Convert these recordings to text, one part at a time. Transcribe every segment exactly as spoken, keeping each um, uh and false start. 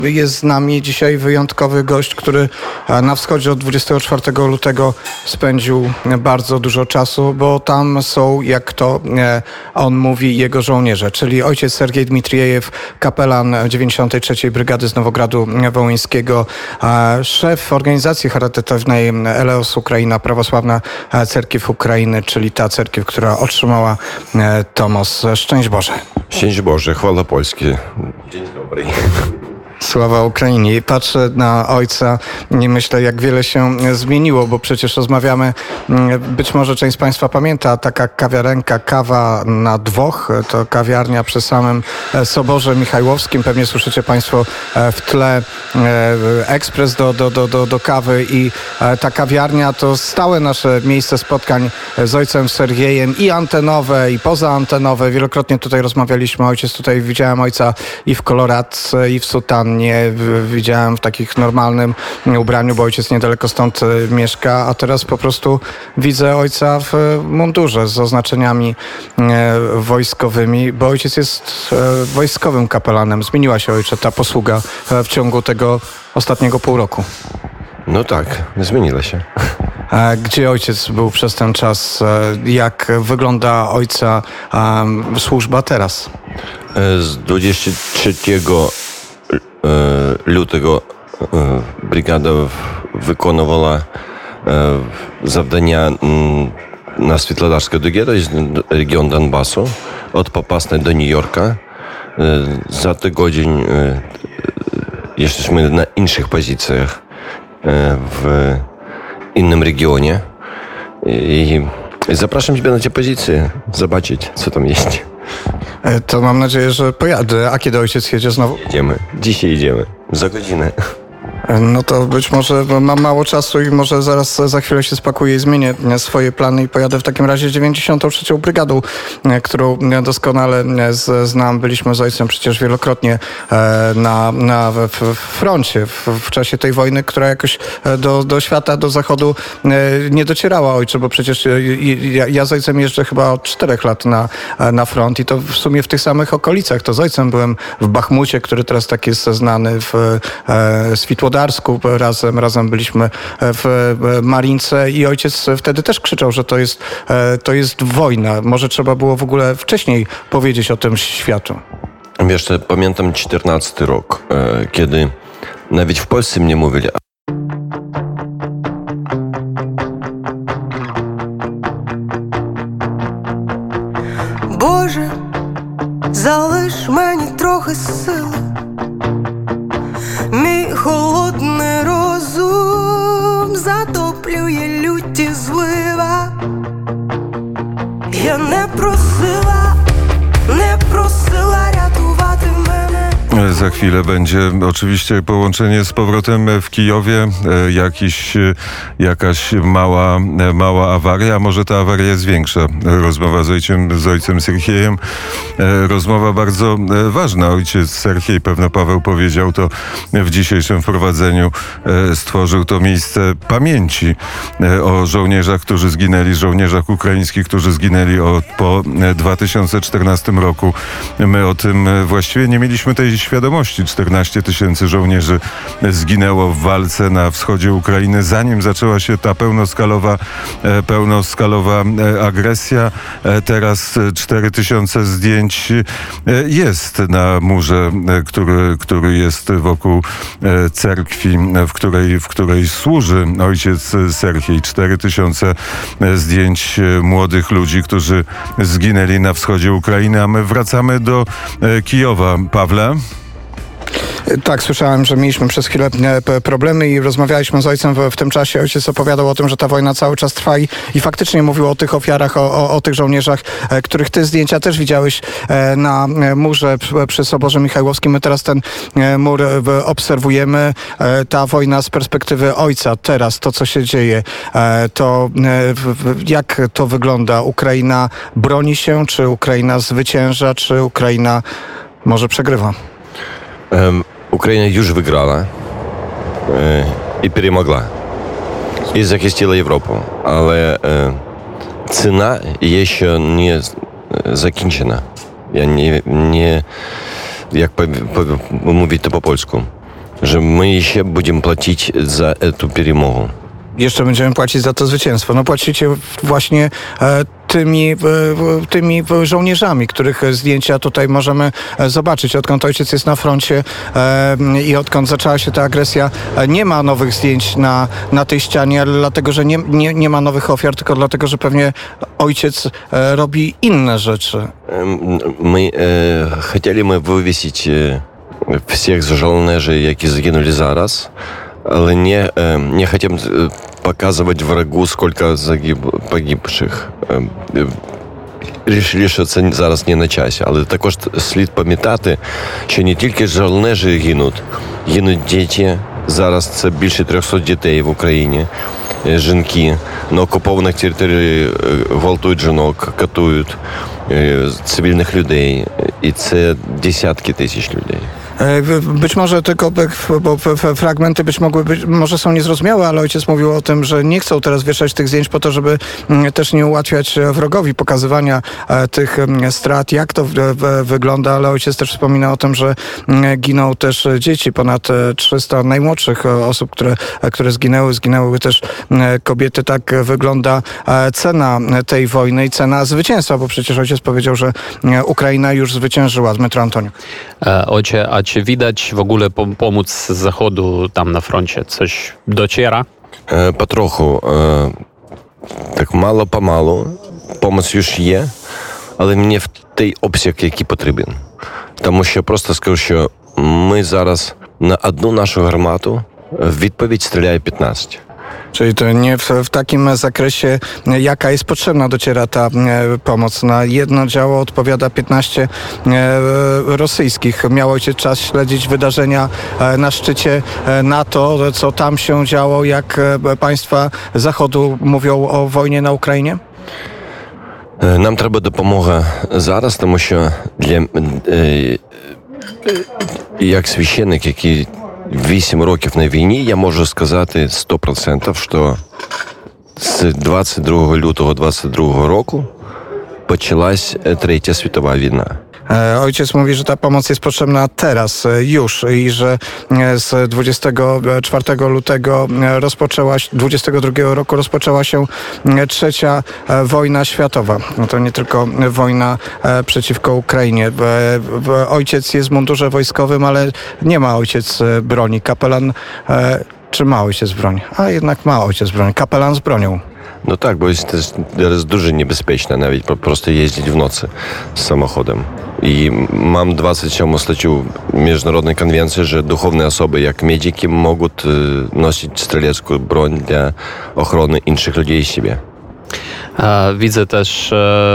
Jest z nami dzisiaj wyjątkowy gość, który na wschodzie od dwudziestego czwartego lutego spędził bardzo dużo czasu, bo tam są, jak to on mówi, jego żołnierze, czyli ojciec Sergiej Dmitrijew, kapelan dziewięćdziesiątej trzeciej Brygady z Nowogradu Wołyńskiego, szef organizacji charytatywnej Eleos Ukraina, Prawosławna Cerkiew Ukrainy, czyli ta cerkiew, która otrzymała Tomos. Szczęść Boże. Szczęść Boże, chwała Polski. Dzień dobry. Sława Ukrainie. Patrzę na ojca i myślę, jak wiele się zmieniło, bo przecież rozmawiamy, być może część z Państwa pamięta, taka kawiarenka Kawa na dwoch, to kawiarnia przy samym Soborze Michajłowskim. Pewnie słyszycie Państwo w tle ekspres do, do, do, do, do kawy i ta kawiarnia to stałe nasze miejsce spotkań z ojcem Sergiejem i antenowe, i pozaantenowe. Wielokrotnie tutaj rozmawialiśmy. Ojciec tutaj, widziałem ojca i w koloradce, i w sutannie. Nie widziałem w takich normalnym ubraniu, bo ojciec niedaleko stąd mieszka, a teraz po prostu widzę ojca w mundurze z oznaczeniami wojskowymi, bo ojciec jest wojskowym kapelanem. Zmieniła się, ojcze, ta posługa w ciągu tego ostatniego pół roku. No tak, zmieniła się. Gdzie ojciec był przez ten czas? Jak wygląda ojca służba teraz? Z dwudziestego trzeciego lutego brygada wykonywała завдання na Світлодарське Дуге, to jest region Donbasu, od Popasnej do New Yorka. Za tydzień jesteśmy na innych pozycjach w innym regionie i zapraszam Ciebie na te pozycje, zobaczyć, co tam jest. To mam nadzieję, że pojadę. A kiedy ojciec jedzie znowu? Jedziemy. Dzisiaj idziemy. Za godzinę. No to być może mam mało czasu i może zaraz za chwilę się spakuję i zmienię swoje plany i pojadę w takim razie dziewięćdziesiątą trzecią Brygadą, którą doskonale znam. Byliśmy z ojcem przecież wielokrotnie na, na w froncie w, w czasie tej wojny, która jakoś do, do świata, do zachodu nie docierała, ojcze, bo przecież ja, ja z ojcem jeżdżę chyba od czterech lat na, na front i to w sumie w tych samych okolicach. To z ojcem byłem w Bachmucie, który teraz tak jest znany, w Światłodarsku. Razem, razem byliśmy w Marince i ojciec wtedy też krzyczał, że to jest, to jest wojna. Może trzeba było w ogóle wcześniej powiedzieć o tym światu. Wiesz, pamiętam czternasty rok, kiedy nawet w Polsce mnie mówili. Боже, залиш мені трохи сили. Мій холодний розум затоплює люті злива. Я не просила, не просила рятувати мене. Za chwilę będzie oczywiście połączenie z powrotem w Kijowie, jakiś, jakaś mała, mała awaria, a może ta awaria jest większa. Rozmowa z ojcem, z ojcem Sergiejem, rozmowa bardzo ważna. Ojciec Sergiej, pewno Paweł powiedział to w dzisiejszym wprowadzeniu, stworzył to miejsce pamięci o żołnierzach, którzy zginęli, żołnierzach ukraińskich, którzy zginęli od, po dwa tysiące czternastym roku. My o tym właściwie nie mieliśmy tej świadomości. czternaście tysięcy żołnierzy zginęło w walce na wschodzie Ukrainy, zanim zaczęła się ta pełnoskalowa, pełnoskalowa agresja. Teraz cztery tysiące zdjęć jest na murze, który, który jest wokół cerkwi, w której, w której służy ojciec Sergiej. cztery tysiące zdjęć młodych ludzi, którzy zginęli na wschodzie Ukrainy, a my wracamy do Kijowa. Pawle? Tak, słyszałem, że mieliśmy przez chwilę problemy i rozmawialiśmy z ojcem w, w tym czasie. Ojciec opowiadał o tym, że ta wojna cały czas trwa i, i faktycznie mówił o tych ofiarach, o, o, o tych żołnierzach, których ty zdjęcia też widziałeś na murze przy Soborze Michajłowskim. My teraz ten mur obserwujemy. Ta wojna z perspektywy ojca teraz, to co się dzieje, to jak to wygląda? Ukraina broni się, czy Ukraina zwycięża, czy Ukraina może przegrywa? Um, Ukraina już wygrała e, i перемогла. I захистила Європу. Але e, cena jeszcze nie zakończona. Ja nie, nie jak po, po, mówić to po polsku. że my jeszcze będziemy płacić za tę перемогу. Jeszcze będziemy płacić za to zwycięstwo. No płacicie właśnie e, tymi, e, tymi żołnierzami, których zdjęcia tutaj możemy zobaczyć. Odkąd ojciec jest na froncie e, i odkąd zaczęła się ta agresja, e, nie ma nowych zdjęć na, na tej ścianie, ale dlatego, że nie, nie, nie ma nowych ofiar, tylko dlatego, że pewnie ojciec e, robi inne rzeczy. My e, chcieli my wywieźć e, wszystkich żołnierzy, jakie zginęli zaraz, ale nie, nie chcemy показывать врагу, сколько загиб, погибших. Рішили, що це зараз не на часі, але також слід пам'ятати, що не тільки жовнежі гинуть, гинуть діти. Зараз це більше трьохсот дітей в Україні, жінки. На окупованих територіях гвалтують жінок, катують цивільних людей. І це десятки тисяч людей. Być może tylko, bo fragmenty być mogły być, może są niezrozumiałe, ale ojciec mówił o tym, że nie chcą teraz wieszać tych zdjęć po to, żeby też nie ułatwiać wrogowi pokazywania tych strat, jak to wygląda, ale ojciec też wspomina o tym, że giną też dzieci, ponad trzysta najmłodszych osób, które, które zginęły, zginęły też kobiety. Tak wygląda cena tej wojny i cena zwycięstwa, bo przecież ojciec powiedział, że Ukraina już zwyciężyła. Dmytro Antoniuk. Ojcze, a czy widać w ogóle pomóc z zachodu tam na froncie? Coś dociera? E, potrochu. E, tak mało pomału. Pomoc już jest, ale nie w tej opcji, jaki potrzebny. Тому що просто скажу, що ми зараз на одну нашу гармату в відповідь стріляє piętnaście. Czyli to nie w, w takim zakresie, jaka jest potrzebna, dociera ta e, pomoc. Na jedno działo odpowiada piętnaście e, rosyjskich. Miał ojciec czas śledzić wydarzenia e, na szczycie e, NATO, co tam się działo, jak e, państwa Zachodu mówią o wojnie na Ukrainie? Нам треба допомога зараз, тому що для, е, як священник, який вісім років на війні, я можу сказати сто відсотків, що з двадцять другого лютого двадцять другого року почалась Третя світова війна. Ojciec mówi, że ta pomoc jest potrzebna teraz, już i że z dwudziestego czwartego lutego rozpoczęła, dwudziestego drugiego roku rozpoczęła się trzecia wojna światowa. No to nie tylko wojna przeciwko Ukrainie. Ojciec jest w mundurze wojskowym, ale nie ma ojciec broni. Kapelan, czy ma ojciec broń? A jednak ma ojciec broń. Kapelan z bronią. No tak, bo jest też teraz дуже niebezpieczne nawet po prostu jeździć w nocy z samochodem. I mam dwudziestą siódmą stаттю Międzynarodowej Konwencji, że duchowne osoby jak medyki mogą nosić strzelecką broń dla ochrony innych ludzi i siebie. Widzę też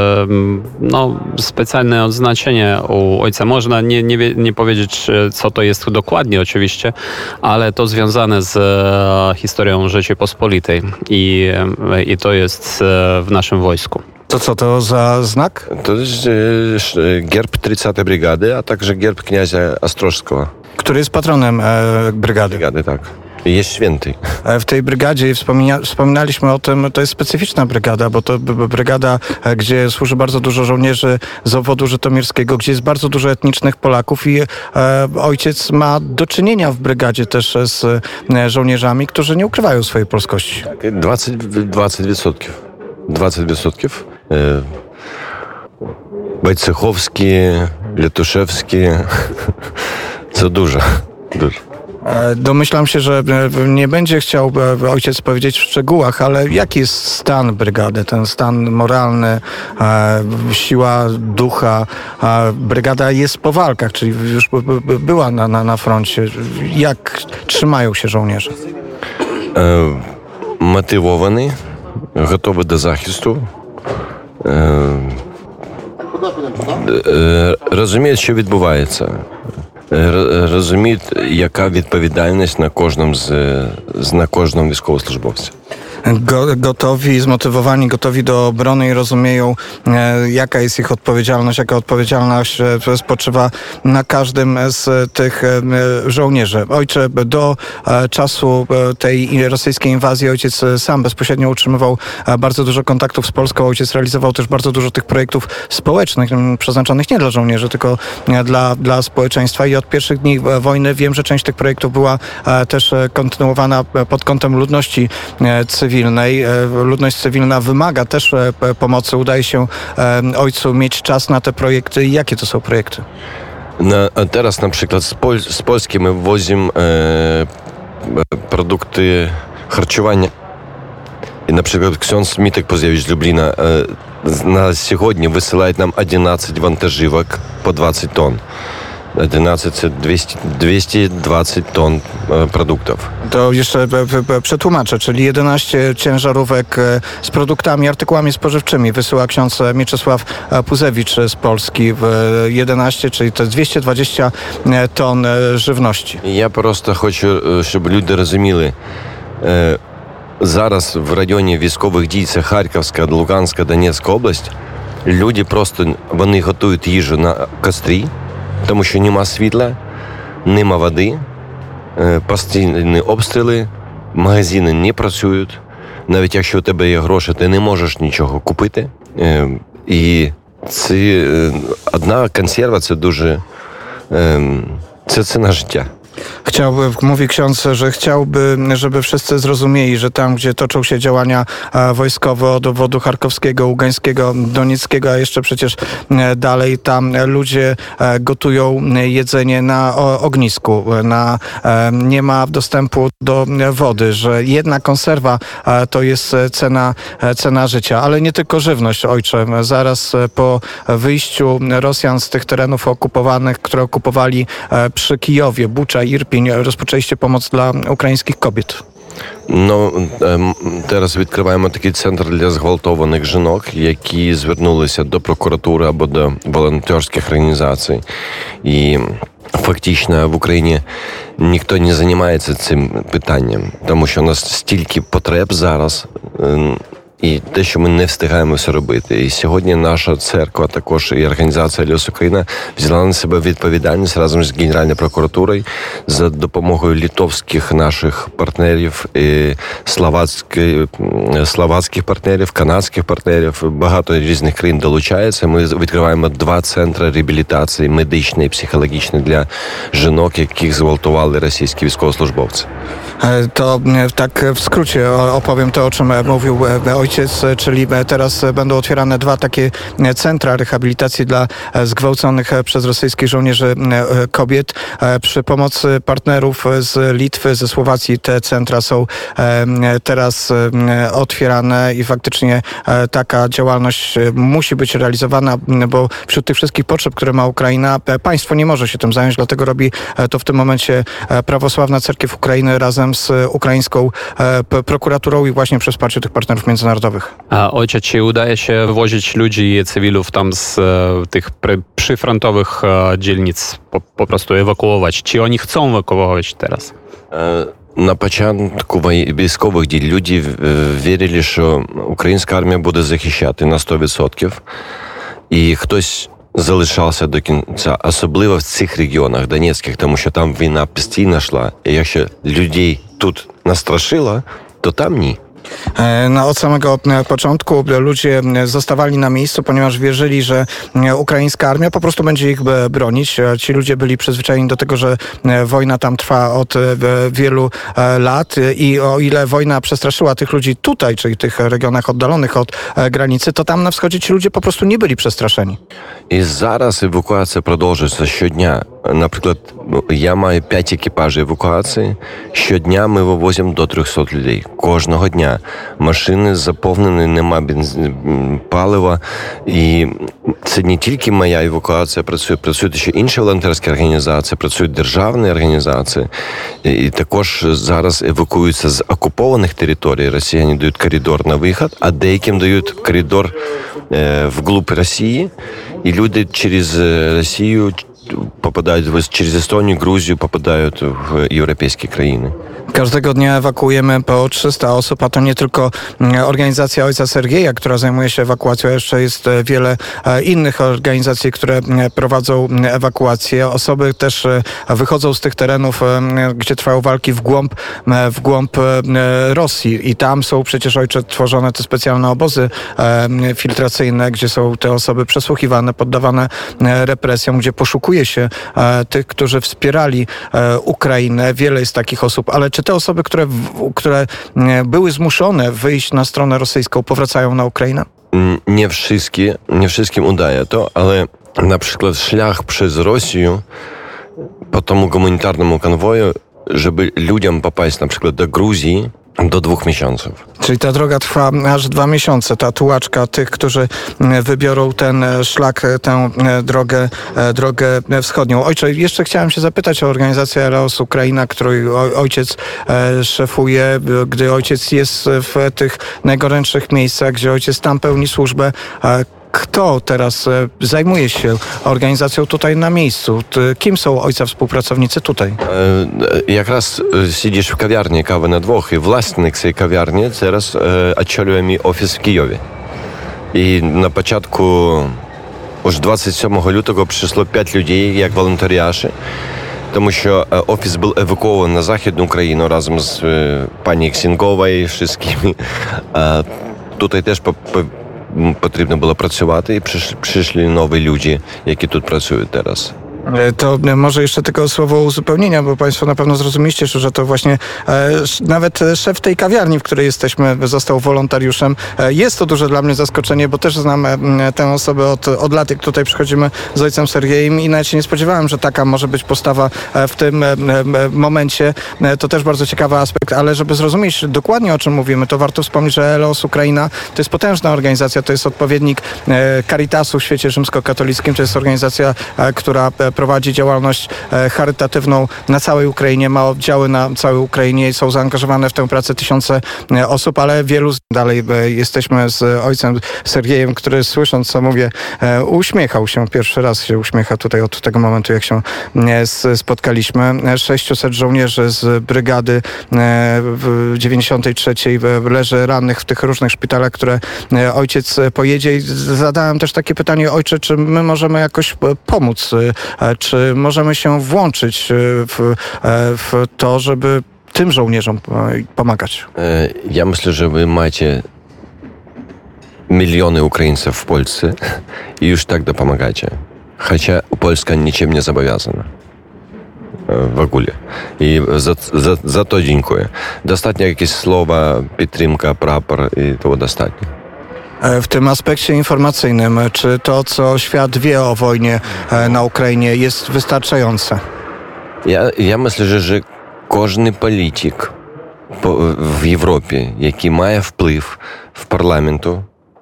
no, specjalne odznaczenie u ojca. Można nie, nie, nie powiedzieć, co to jest dokładnie oczywiście, ale to związane z historią Rzeczypospolitej i, i to jest w naszym wojsku. To co to za znak? To jest gierb trzydziestej Brygady, a także gierb kniazia Ostrożskiego. Który jest patronem e, brygady. Brygady, tak. Jest święty. W tej brygadzie wspomina, wspominaliśmy o tym, to jest specyficzna brygada, bo to brygada, gdzie służy bardzo dużo żołnierzy z obwodu żytomierskiego, gdzie jest bardzo dużo etnicznych Polaków i e, ojciec ma do czynienia w brygadzie też z e, żołnierzami, którzy nie ukrywają swojej polskości. Tak, dwadzieścia procent. dwadzieścia procent. E, Wojciechowski, Letuszewski. Co dużo. Dużo. Domyślam się, że nie będzie chciał ojciec powiedzieć w szczegółach, ale jaki jest stan brygady, ten stan moralny, siła ducha? Brygada jest po walkach, czyli już była na, na, na froncie. Jak trzymają się żołnierze? Motywowani, gotowi do захисту. Розуміють, що відбувається. Розуміють, яка відповідальність на кожному з, на кожному військовослужбовці. Go, gotowi, zmotywowani, gotowi do obrony i rozumieją, e, jaka jest ich odpowiedzialność, jaka odpowiedzialność e, spoczywa na każdym z tych e, żołnierzy. Ojcze, do e, czasu e, tej rosyjskiej inwazji ojciec sam bezpośrednio utrzymywał e, bardzo dużo kontaktów z Polską. Ojciec realizował też bardzo dużo tych projektów społecznych, m, przeznaczonych nie dla żołnierzy, tylko e, dla, dla społeczeństwa i od pierwszych dni wojny wiem, że część tych projektów była e, też kontynuowana pod kątem ludności e, cywilnej. E, ludność cywilna wymaga też e, pomocy. Udaje się e, ojcu mieć czas na te projekty. I jakie to są projekty? Na, teraz na przykład z, Pol z Polski my wozimy e, produkty харчування. I na przykład ksiądz Mitek Pozjewicz z Lublina e, na сегодня высылает нам одиннадцать вантажівок po dwadzieścia ton. jedenaście, dwieście, dwieście dwadzieścia ton produktów. To jeszcze przetłumaczę, czyli jedenaście ciężarówek z produktami, artykułami spożywczymi wysyła ksiądz Mieczysław Puzewicz z Polski w jedenaście, czyli to jest dwieście dwadzieścia ton żywności. Ja po prostu хочу, щоб люди розуміли, зараз в районі військових дій, це Харківська, Луганська, Донецька область, люди просто, вони готують їжу на кострі, тому що нема світла, нема води, постійні обстріли, магазини не працюють. Навіть якщо у тебе є гроші, ти не можеш нічого купити. І це одна консерва, це дуже, це ціна життя. Chciałby, mówi ksiądz, że chciałby, żeby wszyscy zrozumieli, że tam, gdzie toczą się działania wojskowe od obwodu charkowskiego, ługańskiego, donieckiego, a jeszcze przecież dalej, tam ludzie gotują jedzenie na ognisku, na, nie ma dostępu do wody, że jedna konserwa to jest cena, cena życia, ale nie tylko żywność, ojcze. Zaraz po wyjściu Rosjan z tych terenów okupowanych, które okupowali przy Kijowie, Bucza, Irpiń, rozpoczęliście pomoc dla ukraińskich kobiet. Ну, зараз відкриваємо такий центр для зґвалтованих жінок, які звернулися до прокуратури або до волонтерських організацій. І фактично в Україні ніхто не займається цим питанням, тому що у нас стільки потреб зараз, і те, що ми не встигаємо все робити. І сьогодні наша церква, також і організація «Аліос Україна» взяла на себе відповідальність разом з Генеральною прокуратурою за допомогою литовських наших партнерів, і словацьких, словацьких партнерів, канадських партнерів. Багато різних країн долучається. Ми відкриваємо два центри реабілітації медичної і психологічної для жінок, яких зґвалтували російські військовослужбовці. To tak w skrócie opowiem to, o czym mówił ojciec, czyli teraz będą otwierane dwa takie centra rehabilitacji dla zgwałconych przez rosyjskich żołnierzy kobiet. Przy pomocy partnerów z Litwy, ze Słowacji te centra są teraz otwierane i faktycznie taka działalność musi być realizowana, bo wśród tych wszystkich potrzeb, które ma Ukraina, państwo nie może się tym zająć, dlatego robi to w tym momencie Prawosławna Cerkiew Ukrainy razem z ukraińską prokuraturą i właśnie przy wsparciu tych partnerów międzynarodowych. A ojcze, czy udaje się wozić ludzi i cywilów tam z e, tych pry, przyfrontowych e, dzielnic, po, po prostu ewakuować? Czy oni chcą ewakuować teraz? На початку військових дій люди вірили, що українська армія буде захищати на сто відсотків. І хтось залишався до кінця, особливо в цих регіонах донецьких, тому що там війна постійно йшла. І якщо людей тут настрашило, то там ні. No, od samego początku ludzie zostawali na miejscu, ponieważ wierzyli, że ukraińska armia po prostu będzie ich bronić. Ci ludzie byli przyzwyczajeni do tego, że wojna tam trwa od wielu lat i o ile wojna przestraszyła tych ludzi tutaj, czyli w tych regionach oddalonych od granicy, to tam na wschodzie ci ludzie po prostu nie byli przestraszeni. І зараз евакуація продовжується щодня. Наприклад, я маю п'ять екіпажів евакуації. Щодня ми вивозимо до триста людей. Кожного дня. Машини заповнені, нема бенз... палива. І це не тільки моя евакуація працює, працюють ще інші волонтерські організації, працюють державні організації. І також зараз евакуюються з окупованих територій. Росіяни дають коридор на вихід, а деяким дають коридор е, вглуб Росії. І люди через Росію попадають, через Естонію, Грузію попадають в європейські країни. Każdego dnia ewakuujemy po trzysta osób, a to nie tylko organizacja Ojca Sergieja, która zajmuje się ewakuacją, jeszcze jest wiele innych organizacji, które prowadzą ewakuację. Osoby też wychodzą z tych terenów, gdzie trwają walki w głąb, w głąb Rosji i tam są przecież, ojcze, tworzone te specjalne obozy filtracyjne, gdzie są te osoby przesłuchiwane, poddawane represjom, gdzie poszukuje się tych, którzy wspierali Ukrainę. Wiele jest takich osób, ale czy te osoby, które, które były zmuszone wyjść na stronę rosyjską, powracają na Ukrainę? Nie wszystkie, nie wszystkim udaje to, ale na przykład szlak przez Rosję po tomu humanitarnemu konwoju, żeby ludziom popaść na przykład do Gruzji, do dwóch miesięcy. Czyli ta droga trwa aż dwa miesiące. Ta tułaczka tych, którzy wybiorą ten szlak, tę drogę, drogę wschodnią. Ojcze, jeszcze chciałem się zapytać o organizację Aleos Ukraina, której ojciec szefuje, gdy ojciec jest w tych najgorętszych miejscach, gdzie ojciec tam pełni służbę. Kto teraz zajmuje się organizacją tutaj na miejscu? Kim są ojca współpracownicy tutaj? Jak raz siedzisz w kawiarni Kawy na dwóch i własnik tej kawiarni teraz odciął mi ofis w Kijowie. I na początku już двадцять сьомого lutego przyszło pięć ludzi jak wolontariuszy, тому що офіс був евакуований на Західну Україну разом з пані Ксінковою, wszystkimi. Tutaj też po, po, potrzebno było pracować i przysz, przyszli nowi ludzie, jakie tu pracują teraz. To może jeszcze tylko słowo uzupełnienia, bo państwo na pewno zrozumieliście, że to właśnie e, nawet szef tej kawiarni, w której jesteśmy, został wolontariuszem. E, jest to duże dla mnie zaskoczenie, bo też znam e, tę osobę od, od lat, jak tutaj przychodzimy z ojcem Sergiejem i nawet się nie spodziewałem, że taka może być postawa e, w tym e, e, momencie. E, to też bardzo ciekawy aspekt, ale żeby zrozumieć dokładnie, o czym mówimy, to warto wspomnieć, że Aleos Ukraina to jest potężna organizacja, to jest odpowiednik e, Caritasu w świecie rzymskokatolickim, to jest organizacja, e, która e, prowadzi działalność charytatywną na całej Ukrainie, ma oddziały na całej Ukrainie i są zaangażowane w tę pracę tysiące osób, ale wielu z... dalej jesteśmy z ojcem Sergiejem, który słysząc, co mówię, uśmiechał się. Pierwszy raz się uśmiecha tutaj od tego momentu, jak się spotkaliśmy. sześciuset żołnierzy z brygady w dziewięćdziesiątej trzeciej leży rannych w tych różnych szpitalach, które ojciec pojedzie. I zadałem też takie pytanie, ojcze, czy my możemy jakoś pomóc? Czy możemy się włączyć w, w to, żeby tym żołnierzom pomagać? Ja myślę, że wy macie miliony Ukraińców w Polsce i już tak dopomagacie. Chociaż Polska niczym nie zobowiązana. W ogóle. I za, za, za to dziękuję. Dostatnio jakieś słowa, підтримка, prapor i to dostatnio. W tym aspekcie informacyjnym, czy to, co świat wie o wojnie na Ukrainie, jest wystarczające? Ja, ja myślę, że, że każdy polityk po, w Europie, jaki ma wpływ w parlamentu,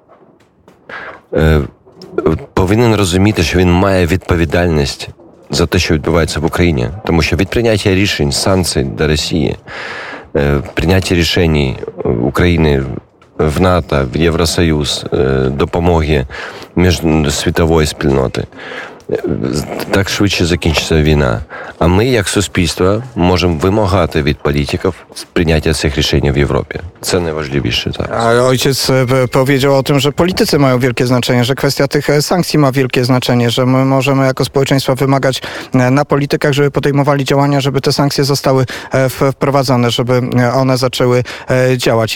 e, powinien rozumieć, że on ma odpowiedzialność za to, co відбувається в Україні. Тому що від прийняття рішень, санкцій до Росії, е, прийняття рішень України в НАТО, в Євросоюз, допомоги міжсвітової спільноти, так швидше закінчиться війна. А ми, як суспільство, можемо вимагати від політиків прийняття цих рішень в Європі. Це najważniejsze зараз. A ojciec powiedział o tym, że politycy mają wielkie znaczenie, że kwestia tych sankcji ma wielkie znaczenie, że my możemy jako społeczeństwo wymagać na politykach, żeby podejmowali działania, żeby te sankcje zostały wprowadzone, żeby one zaczęły działać.